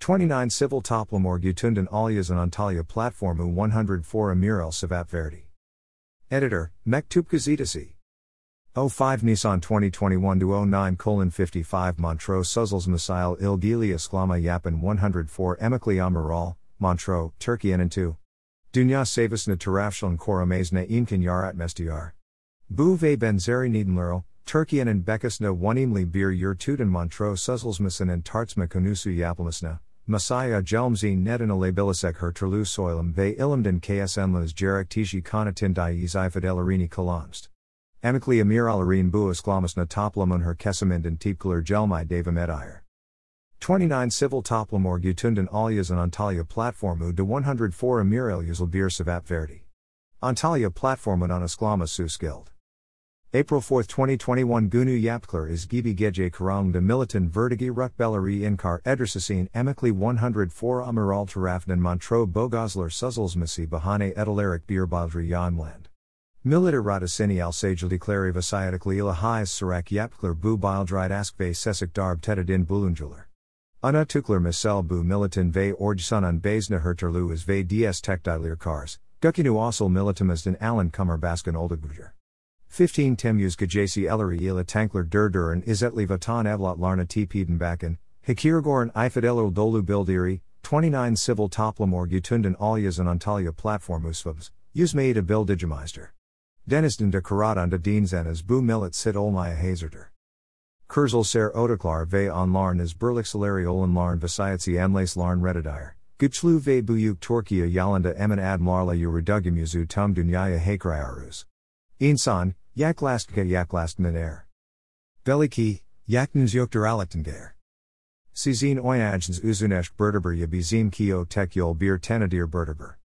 29 Civil Toplamor Gutundan Alias and Antalya Platformu 104 Amiral Savat Verdi. Editor, Mektup Gazetasi. 05 Nissan 2021-09:55 Montreux Suzels Misail İlgili Isklama Yapan 104 Emekli Amiral, Montreux, Turkey and 2. Dünya Savasına Tarafşan Korumasına İmkan Yaratmestiar. Bu ve Benzeri Nedenlerle, Türkiye'nin Bekasına Wanimli bir Yurtuden Montreux Suzelsmasının Tartışma Konusu Yapılmasına, Masaya Gelmzi Neden Alabilisek Herturlu Soylum ve İlimden KSNLAS Gerektici Konutin İzifadelerini Kalamst. Emekli Amiralarin bu Islamasına Toplamun her Kesiminden Tipkular Gelmay Devam Edire. 29 Civil Toplamor Gutundan Alias and Antalya Platformu de 104 Amiral Yüzülbir Savat Verdi. Antalya Platformun Isklama Suskild. April 4, 2021 Gunu Yapklar is Gibi Gece Karang de Militan Vertigi Rukbeleri Inkar Edrisasine Emekli 104 Amiral Tarafnan Montreux Bogoslar Suzelsmasi Bahane Edalarik Birbadri Yonland. Militer Radasini Alsagil Declare Vasayatikli Ilahis Sarak Yapklar Bu Bildride Askve Sesik Darb Tetadin Bulunjular. Ana Tuklar Misel Bu Militan Ve Orjsunan Bazna Herterlu is Ve DS Tekdilir Kars, Gukinu Asal Militamasden Alan Kummer Baskan Oldagbujer. 15 Temuz Gajasi Elleri ila Tankler Durdur and Izzetli Vatan Evlot Larna Tpeden Bakan, Hikirgoran Ifadelul Dolu Bildiri, 29 Civil Toplamor Gutundan Alias and Antalya Platformusvabs, Uzmaida Bildigimeister. Denisden de Karadan de Dienzenas Bu Millet Sit Olmaya Hazarder. Kurzel Ser Odaklar Ve on Larn is Berliksaleri Olan Larn Vasayatsi Amlas Larn Redidire, Guchlu Ve Buyuk Torkia Yalanda Emin Ad Marla Urudugimuzu Tum Dunyaya Hakrayarus. İnsan, yaklastmen er. Beliki, yaknens yoktur alektengair. Sizin oyajns uzunesh berdeber ya bizim kio tek yol bir tenadir berdeber.